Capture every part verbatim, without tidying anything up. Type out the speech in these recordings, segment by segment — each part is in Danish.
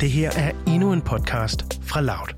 Det her er endnu en podcast fra Loud.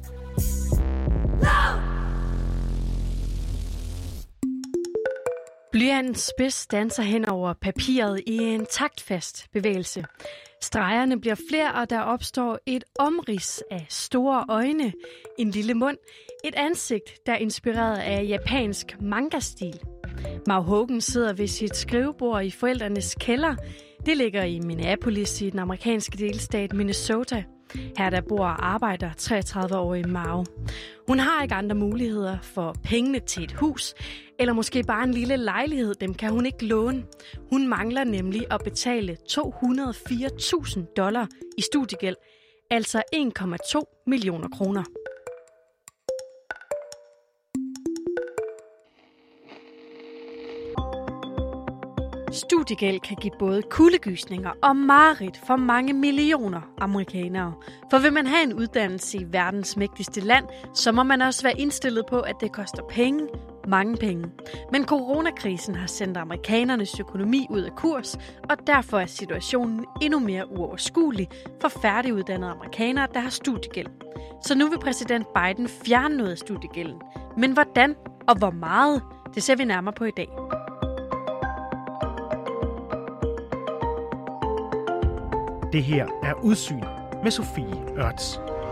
Blyantens spids danser hen over papiret i en taktfast bevægelse. Stregerne bliver flere, og der opstår et omrids af store øjne, en lille mund, et ansigt, der er inspireret af japansk manga-stil. Mau Hogan sidder ved sit skrivebord i forældrenes kælder. Det ligger i Minneapolis i den amerikanske delstat Minnesota. Her der bor og arbejder treogtredive-årige Mau. Hun har ikke andre muligheder for pengene til et hus, eller måske bare en lille lejlighed, dem kan hun ikke låne. Hun mangler nemlig at betale to hundrede og fire tusind dollar i studiegæld, altså en komma to millioner kroner. Studiegæld kan give både kuldegysninger og mareridt for mange millioner amerikanere. For vil man have en uddannelse i verdens mægtigste land, så må man også være indstillet på, at det koster penge, mange penge. Men coronakrisen har sendt amerikanernes økonomi ud af kurs, og derfor er situationen endnu mere uoverskuelig for færdiguddannede amerikanere, der har studiegæld. Så nu vil præsident Biden fjerne noget af studiegælden. Men hvordan og hvor meget, det ser vi nærmere på i dag. Det her er Udsyn med Sofie Ørts.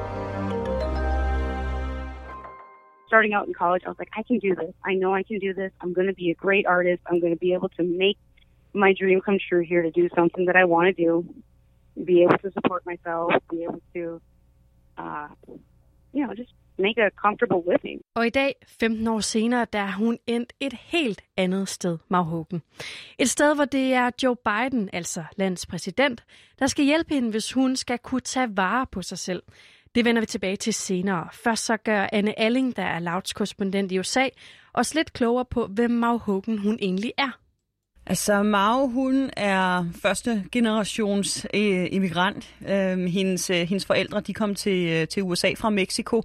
Starting out in college, I was like, I can do this. I know I can do this. I'm going to be a great artist. I'm going to be able to make my dream come true here to do something that I want to do, be able to support myself, be able to, uh, you know, just make a comfortable living. Og i dag, femten år senere, der er hun endt et helt andet sted, Mau Hogan. Et sted, hvor det er Joe Biden, altså landets præsident, der skal hjælpe hende, hvis hun skal kunne tage vare på sig selv. Det vender vi tilbage til senere. Først så gør Anne Alling, der er Louds korrespondent i U S A, os lidt klogere på, hvem Mau Hogan hun egentlig er. Altså, Mau, hun er første generations øh, immigrant. Øh, hendes, øh, hendes forældre, de kom til, øh, til U S A fra Mexico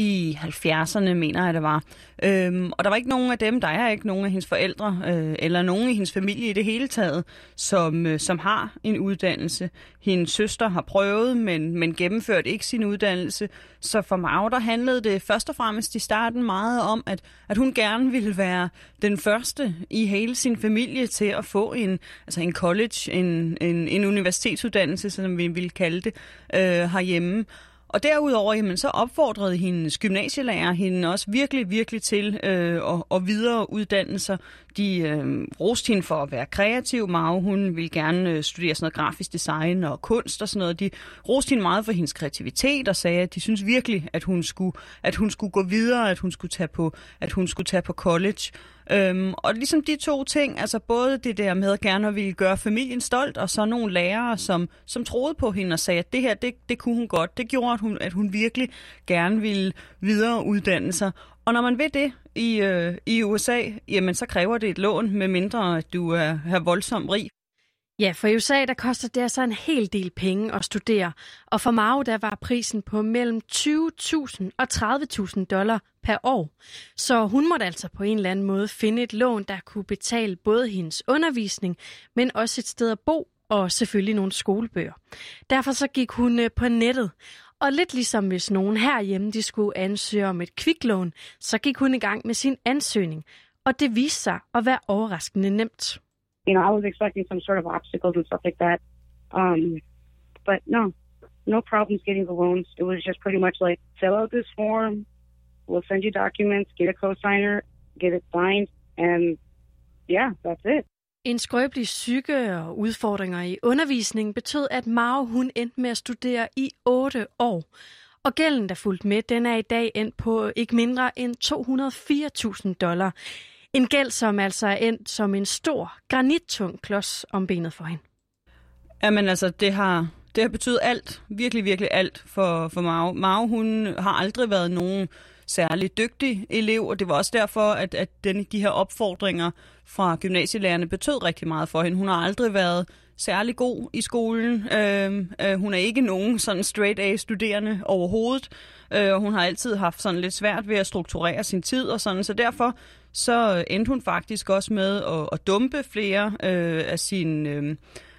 i halvfjerdserne, mener jeg, det var. Øhm, og der var ikke nogen af dem, der er ikke nogen af hendes forældre, øh, eller nogen i hendes familie i det hele taget, som, øh, som har en uddannelse. Hendes søster har prøvet, men, men gennemført ikke sin uddannelse. Så for Mau, der handlede det først og fremmest i starten meget om, at, at hun gerne ville være den første i hele sin familie til at få en, altså en college, en, en, en universitetsuddannelse, som vi ville kalde det, øh, herhjemme. Og derudover, jamen, så opfordrede hendes gymnasielærer hende også virkelig, virkelig til øh, at, at videreuddanne sig. De øh, roste hende for at være kreativ. Mau, hun ville gerne øh, studere sådan noget grafisk design og kunst og sådan noget. De roste hende meget for hendes kreativitet og sagde, at de synes virkelig, at hun skulle, at hun skulle gå videre, at hun skulle tage på, at hun skulle tage på college. Øhm, og ligesom de to ting, altså både det der med at gerne ville gøre familien stolt, og så nogle lærere, som, som troede på hende og sagde, at det her, det, det kunne hun godt. Det gjorde, at hun, at hun virkelig gerne ville videreuddanne sig. Og når man vil det i, øh, i U S A, jamen så kræver det et lån, med mindre at du er, er voldsomt rig. Ja, for i U S A der koster det altså en hel del penge at studere, og for Mau der var prisen på mellem tyve tusind og tredive tusind dollar per år. Så hun måtte altså på en eller anden måde finde et lån, der kunne betale både hendes undervisning, men også et sted at bo og selvfølgelig nogle skolebøger. Derfor så gik hun på nettet, og lidt ligesom hvis nogen herhjemme de skulle ansøge om et kviklån, så gik hun i gang med sin ansøgning, og det viste sig at være overraskende nemt. You know, I was expecting some sort of obstacles and stuff like that. Um, but no, no problems getting the loans. It was just pretty much like, fill out this form, we'll send you documents, get a cosigner, get it signed, and yeah, that's it. En skrøbelig psyke og udfordringer i undervisningen betød, at Mau hun endte med at studere i otte år. Og gælden, der fulgte med, den er i dag endt på ikke mindre end to hundrede og fire tusind dollar. En gæld, som altså er endt som en stor, granittung klods om benet for hende. Jamen altså, det har, det har betydet alt, virkelig, virkelig alt for, for Mau. Mau, hun har aldrig været nogen særlig dygtig elev, og det var også derfor, at, at den, de her opfordringer fra gymnasielærerne betød rigtig meget for hende. Hun har aldrig været særlig god i skolen. Øh, øh, hun er ikke nogen sådan straight A-studerende overhovedet. Øh, hun har altid haft sådan lidt svært ved at strukturere sin tid og sådan, så derfor så endte hun faktisk også med at, at dumpe flere øh, af sine øh,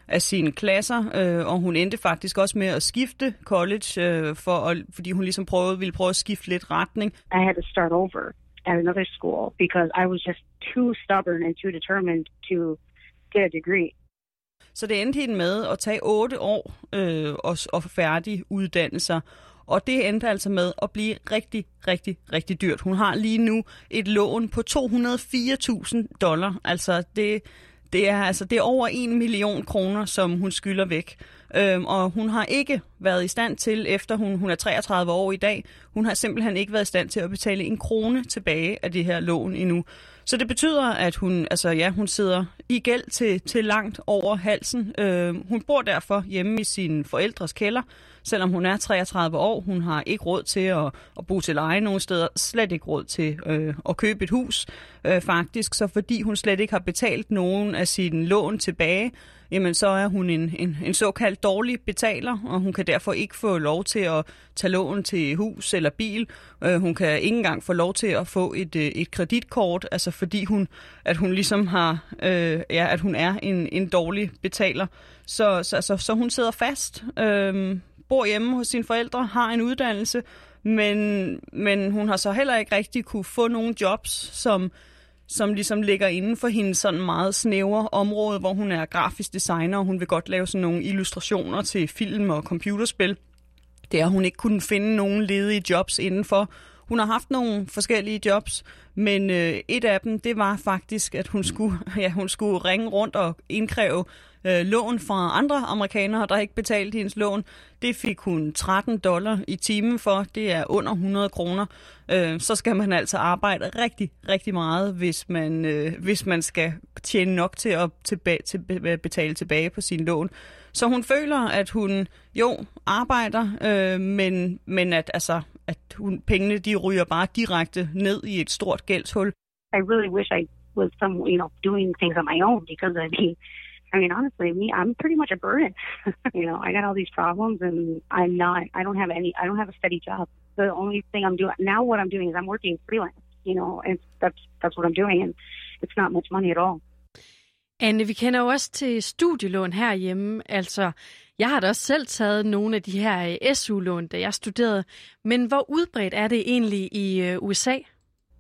af sine klasser, øh, og hun endte faktisk også med at skifte college, øh, for at, fordi hun ligesom prøvede, ville prøve at skifte lidt retning. I had to start over at another school because I was just too stubborn and too determined to get a degree. Så det endte hende med at tage otte år øh, og, og færdig uddannelser. Og det endte altså med at blive rigtig, rigtig, rigtig dyrt. Hun har lige nu et lån på to hundrede og fire tusind dollar. Altså det, det, er, altså det er over en million kroner, som hun skylder væk. Øhm, og hun har ikke været i stand til, efter hun, hun er treogtredive år i dag, hun har simpelthen ikke været i stand til at betale en krone tilbage af det her lån endnu. Så det betyder, at hun, altså ja, hun sidder i gæld til, til langt over halsen. Øh, hun bor derfor hjemme i sine forældres kælder, selvom hun er treogtredive år. Hun har ikke råd til at, at bo til leje nogen steder, slet ikke råd til øh, at købe et hus, øh, faktisk. Så fordi hun slet ikke har betalt nogen af sine lån tilbage, jamen så er hun en, en, en såkaldt dårlig betaler, og hun kan derfor ikke få lov til at tage lån til hus eller bil. Øh, hun kan ikke engang få lov til at få et, et kreditkort, altså fordi hun, at hun ligesom har, øh, ja, at hun er en, en dårlig betaler. Så, så, så, så hun sidder fast, øh, bor hjemme hos sine forældre, har en uddannelse, men, men hun har så heller ikke rigtig kunne få nogle jobs, som som ligesom ligger inden for hendes sådan meget snævre område, hvor hun er grafisk designer, og hun vil godt lave sådan nogle illustrationer til film og computerspil. Det har hun ikke kunnet finde nogen ledige jobs indenfor. Hun har haft nogle forskellige jobs, men øh, et af dem, det var faktisk, at hun skulle, ja, hun skulle ringe rundt og indkræve øh, lån fra andre amerikanere, der ikke betalte hendes lån. Det fik hun tretten dollar i timen for. Det er under hundrede kroner. Øh, så skal man altså arbejde rigtig, rigtig meget, hvis man, øh, hvis man skal tjene nok til at tilbage, til, betale tilbage på sin lån. Så hun føler, at hun jo arbejder, øh, men, men at, altså, at hun, pengene de ryger bare direkte ned i et stort gældshul. I really wish I was some, you know, doing things on my own because I mean, I mean, honestly, me, I'm pretty much a burden. You know, I got all these problems and I'm not, I don't have any, I don't have a steady job. The only thing I'm doing, now what I'm doing is I'm working freelance, you know, and that's, that's what I'm doing and it's not much money at all. Anne, vi kender jo også til studielån herhjemme. Altså, jeg har da også selv taget nogle af de her S U-lån, da jeg studerede. Men hvor udbredt er det egentlig i U S A?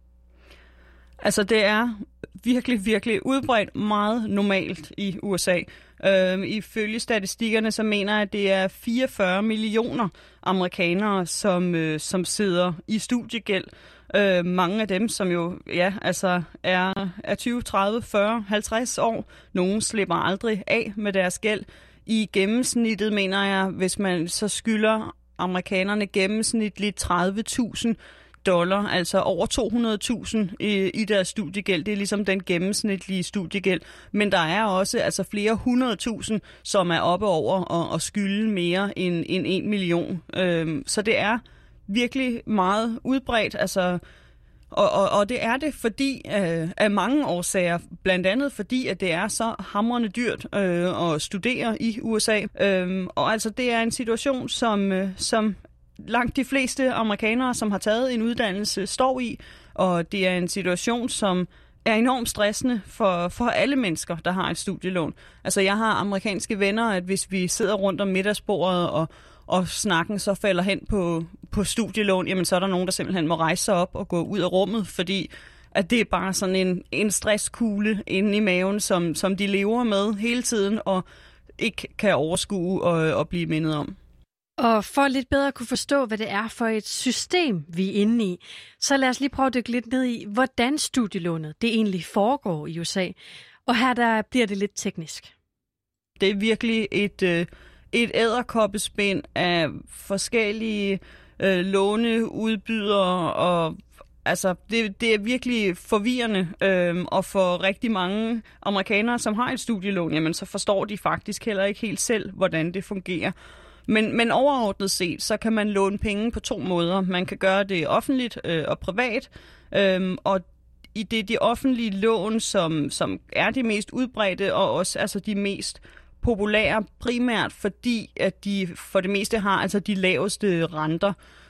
Altså, det er virkelig, virkelig udbredt, meget normalt i U S A. Øh, ifølge statistikkerne, så mener jeg, at det er fireogfyrre millioner amerikanere, som, øh, som sidder i studiegæld. Øh, mange af dem, som jo ja, altså er, er tyve, tredive, fyrre, halvtreds år. Nogle slipper aldrig af med deres gæld. I gennemsnittet, mener jeg, hvis man så skylder amerikanerne gennemsnitligt tredive tusind dollar, altså over to hundrede tusind i, i deres studiegæld. Det er ligesom den gennemsnitlige studiegæld. Men der er også altså flere hundrede tusind, som er oppe over og, og skylde mere end, end en million. Øhm, så det er virkelig meget udbredt, altså, og, og, og det er det fordi øh, af mange årsager, blandt andet fordi, at det er så hamrende dyrt øh, at studere i U S A. Øh, og altså, det er en situation, som, øh, som langt de fleste amerikanere, som har taget en uddannelse, står i, og det er en situation, som er enormt stressende for, for alle mennesker, der har et studielån. Altså, jeg har amerikanske venner, at hvis vi sidder rundt om middagsbordet og og snakken så falder hen på, på studielån, jamen så er der nogen, der simpelthen må rejse sig op og gå ud af rummet, fordi at det er bare sådan en, en stresskugle inde i maven, som, som de lever med hele tiden, og ikke kan overskue og, og blive mindet om. Og for lidt bedre at kunne forstå, hvad det er for et system, vi er inde i, så lad os lige prøve at dykke lidt ned i, hvordan studielånet det egentlig foregår i U S A. Og her der bliver det lidt teknisk. Det er virkelig et... Øh, Et edderkoppespind af forskellige øh, låneudbydere, og altså, det, det er virkelig forvirrende, øh, og for rigtig mange amerikanere, som har et studielån, jamen, så forstår de faktisk heller ikke helt selv, hvordan det fungerer. Men, men overordnet set, så kan man låne penge på to måder. Man kan gøre det offentligt øh, og privat, øh, og i det de offentlige lån, som, som er de mest udbredte, og også altså de mest populære, primært fordi, at de for det meste har altså de laveste renter.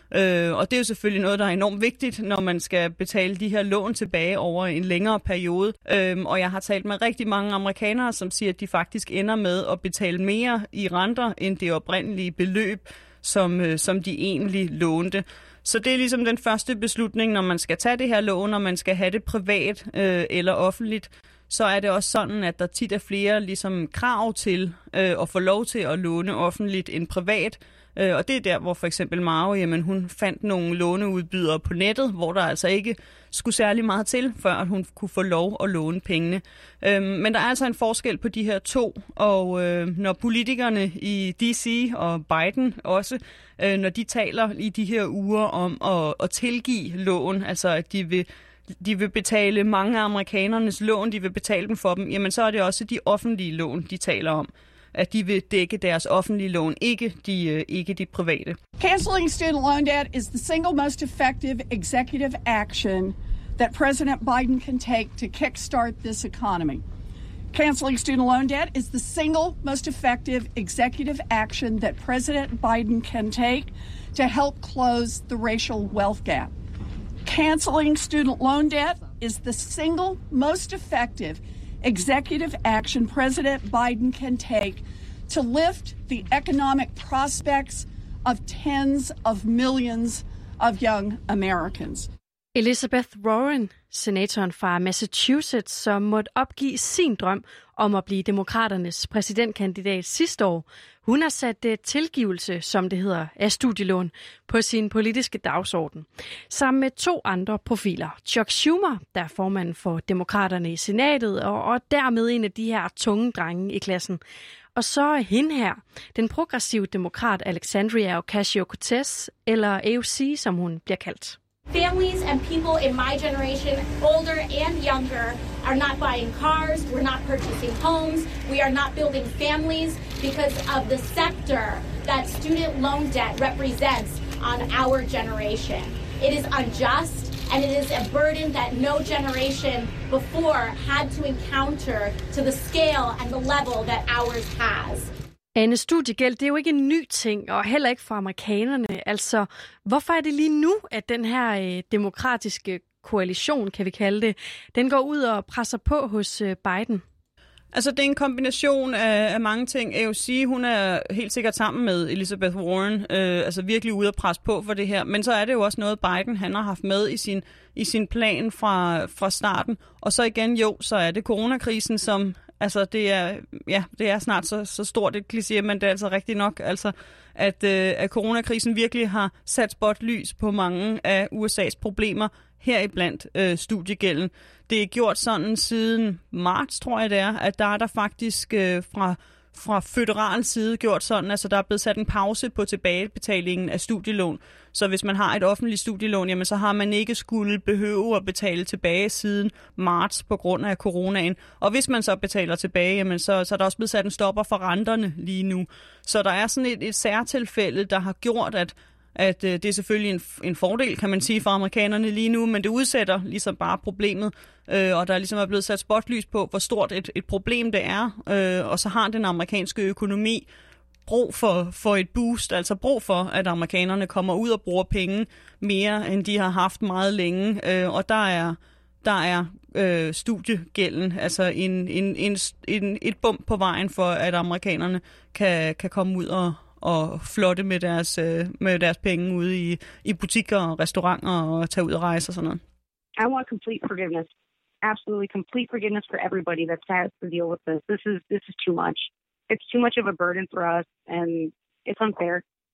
Øh, og det er jo selvfølgelig noget, der er enormt vigtigt, når man skal betale de her lån tilbage over en længere periode. Øh, og jeg har talt med rigtig mange amerikanere, som siger, at de faktisk ender med at betale mere i renter end det oprindelige beløb, som, øh, som de egentlig lånte. Så det er ligesom den første beslutning, når man skal tage det her lån, og man skal have det privat øh, eller offentligt. Så er det også sådan, at der tit er flere ligesom krav til øh, at få lov til at låne offentligt end privat. Øh, og det er der, hvor for eksempel Mao, jamen, hun fandt nogle låneudbydere på nettet, hvor der altså ikke skulle særlig meget til, før at hun kunne få lov at låne pengene. Øh, men der er altså en forskel på de her to, og øh, når politikerne i D C og Biden også, øh, når de taler i de her uger om at, at tilgive lån, altså at de vil de vil betale mange af amerikanernes lån, de vil betale dem for dem, jamen så er det også de offentlige lån, de taler om. At de vil dække deres offentlige lån, ikke de, ikke de private. Canceling student loan debt is the single most effective executive action that President Biden can take to kickstart this economy. Canceling student loan debt is the single most effective executive action that President Biden can take to help close the racial wealth gap. Canceling student loan debt is the single most effective executive action President Biden can take to lift the economic prospects of tens of millions of young Americans. Elizabeth Warren, senatoren fra Massachusetts, som måtte opgive sin drøm om at blive demokraternes præsidentkandidat sidste år. Hun har sat tilgivelse, som det hedder, af studielån på sin politiske dagsorden. Sammen med to andre profiler. Chuck Schumer, der er formand for demokraterne i senatet, og, og dermed en af de her tunge drenge i klassen. Og så er hende her, den progressive demokrat Alexandria Ocasio-Cortez, eller A O C, som hun bliver kaldt. Families and people in my generation, older and younger, are not buying cars, we're not purchasing homes, we are not building families because of the sector that student loan debt represents on our generation. It is unjust and it is a burden that no generation before had to encounter to the scale and the level that ours has. Anne, studiegæld, det er jo ikke en ny ting, og heller ikke for amerikanerne. Altså, hvorfor er det lige nu, at den her øh, demokratiske koalition, kan vi kalde det, den går ud og presser på hos øh, Biden? Altså, det er en kombination af, af mange ting. A O C, hun er helt sikkert sammen med Elizabeth Warren, øh, altså virkelig ude at presse på for det her. Men så er det jo også noget, Biden han har haft med i sin, i sin plan fra, fra starten. Og så igen, jo, så er det coronakrisen, som... Altså, det er, ja, det er snart så, så stort et kliché, men det er altså rigtigt nok, altså, at, øh, at coronakrisen virkelig har sat spotlys på mange af U S A's problemer, heriblandt øh, studiegælden. Det er gjort sådan siden marts, tror jeg det er, at der er der faktisk øh, fra... fra føderal side gjort sådan, altså der er blevet sat en pause på tilbagebetalingen af studielån. Så hvis man har et offentligt studielån, jamen så har man ikke skulle behøve at betale tilbage siden marts på grund af coronaen. Og hvis man så betaler tilbage, jamen så, så er der også blevet sat en stopper for renterne lige nu. Så der er sådan et, et særtilfælde, der har gjort, at at øh, det er selvfølgelig en, en fordel, kan man sige, for amerikanerne lige nu, men det udsætter ligesom bare problemet, øh, og der er ligesom er blevet sat spotlys på, hvor stort et, et problem det er, øh, og så har den amerikanske økonomi brug for, for et boost, altså brug for, at amerikanerne kommer ud og bruger penge mere, end de har haft meget længe, øh, og der er, der er øh, studiegælden, altså en, en, en, en, et bump på vejen for, at amerikanerne kan, kan komme ud og og flotte med deres, med deres penge ude i, i butikker og restauranter og tage ud og rejse og sådan noget. I want complete forgiveness. Absolutely complete forgiveness for everybody that has to deal with this. This is this is too much. It's too much of a burden for us, and it's unfair.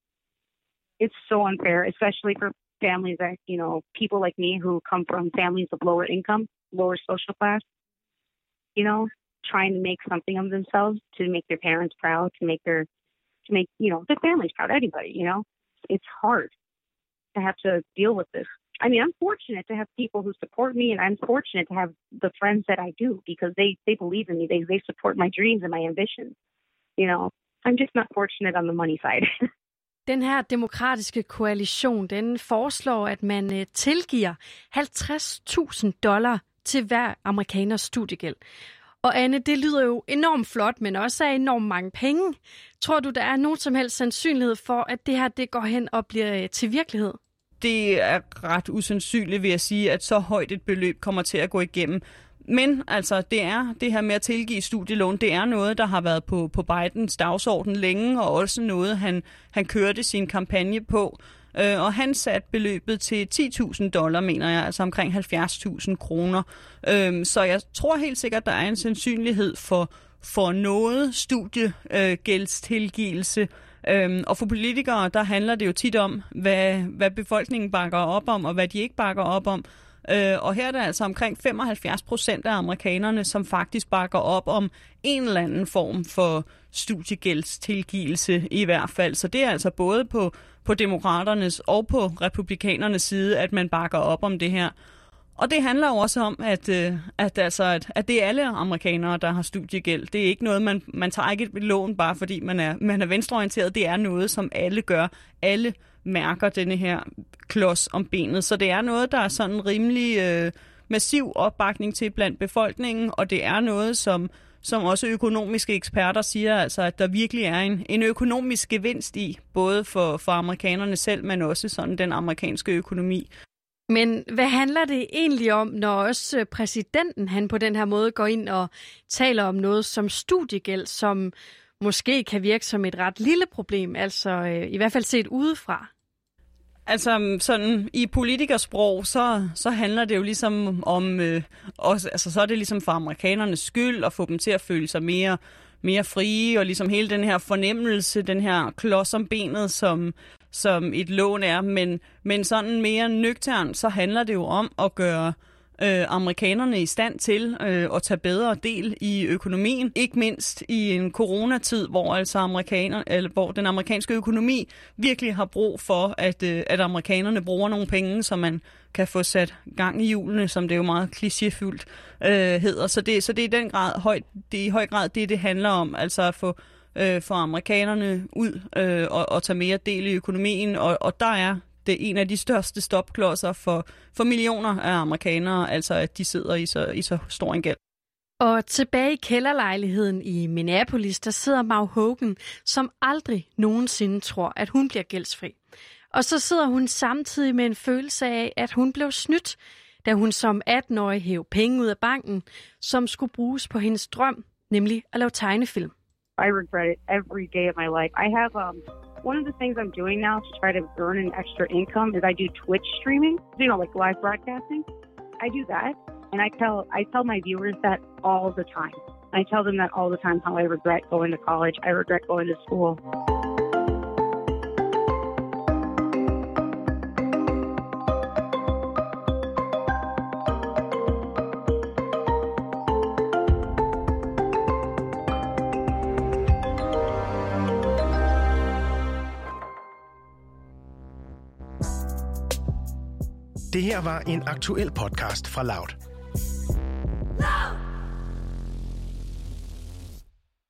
It's so unfair, especially for families that, you know, people like me who come from families of lower income, lower social class, you know, trying to make something of themselves, to make their parents proud, to make their to make, you know, the families proud, anybody, you know. It's hard to have to deal with this. I mean, I'm fortunate to have people who support me, and I'm fortunate to have the friends that I do because they, they believe in me. They they support my dreams and my ambitions. You know, I'm just not fortunate on the money side. Den her demokratiske koalition, den foreslår, at man tilgiver halvtreds tusind dollar til hver amerikaners studiegæld. Og Anne, det lyder jo enormt flot, men også af enormt mange penge. Tror du, der er nogen som helst sandsynlighed for, at det her det går hen og bliver til virkelighed? det er ret usandsynligt, vil jeg sige, at så højt et beløb kommer til at gå igennem. Men altså, det er det her med at tilgive studielån, det er noget, der har været på, på Bidens dagsorden længe, og også noget, han, han kørte sin kampagne på. Øh, og han satte beløbet til ti tusind dollar, mener jeg, altså omkring halvfjerds tusind kroner. Øh, så jeg tror helt sikkert, der er en sandsynlighed for, for noget studiegældstilgivelse. Øhm, og for politikere, der handler det jo tit om, hvad, hvad befolkningen bakker op om, og hvad de ikke bakker op om. Øh, og her er der altså omkring femoghalvfjerds procent af amerikanerne, som faktisk bakker op om en eller anden form for studiegældstilgivelse i hvert fald. Så det er altså både på, på demokraternes og på republikanernes side, at man bakker op om det her. Og det handler jo også om, at, at, altså, at, at det er alle amerikanere, der har studiegæld. Det er ikke noget, man, man tager ikke et lån, bare fordi man er, man er venstreorienteret. Det er noget, som alle gør. Alle mærker denne her klods om benet. Så det er noget, der er sådan rimelig øh, massiv opbakning til blandt befolkningen, og det er noget, som, som også økonomiske eksperter siger, altså, at der virkelig er en, en økonomisk gevinst i, både for, for amerikanerne selv, men også sådan den amerikanske økonomi. Men hvad handler det egentlig om, når også præsidenten han på den her måde går ind og taler om noget som studiegæld, som måske kan virke som et ret lille problem, altså øh, i hvert fald set udefra? Altså sådan i politikersprog, så, så handler det jo ligesom om, øh, også, altså så er det ligesom for amerikanernes skyld at få dem til at føle sig mere, mere frie, og ligesom hele den her fornemmelse, den her klods om benet, som, som et lån er, men, men sådan mere nøgtern, så handler det jo om at gøre øh, amerikanerne i stand til øh, at tage bedre del i økonomien, ikke mindst i en coronatid, hvor altså amerikaner, eller hvor den amerikanske økonomi virkelig har brug for, at, øh, at amerikanerne bruger nogle penge, så man kan få sat gang i hjulene, som det jo meget klichéfyldt øh, hedder. Så det, så det er i den grad højt, det er i høj grad det, det handler om, altså at få øh, for amerikanerne ud øh, og, og tage mere del i økonomien, og, og der er det en af de største stopklodser for, for millioner af amerikanere, altså at de sidder i så, i så stor en gæld. Og tilbage i kælderlejligheden i Minneapolis, der sidder Mau Hogan, som aldrig nogensinde tror, at hun bliver gældsfri. Og så sidder hun samtidig med en følelse af, at hun blev snydt, da hun som atten-årig hævde penge ud af banken, som skulle bruges på hendes drøm, nemlig at lave tegnefilm. I regret it every day of my life. I have um, one of the things I'm doing now to try to earn an extra income is I do Twitch streaming, you know, like live broadcasting. I do that, and I tell I tell my viewers that all the time. I tell them that all the time, how I regret going to college. I regret going to school. Det her var en aktuel podcast fra Loud.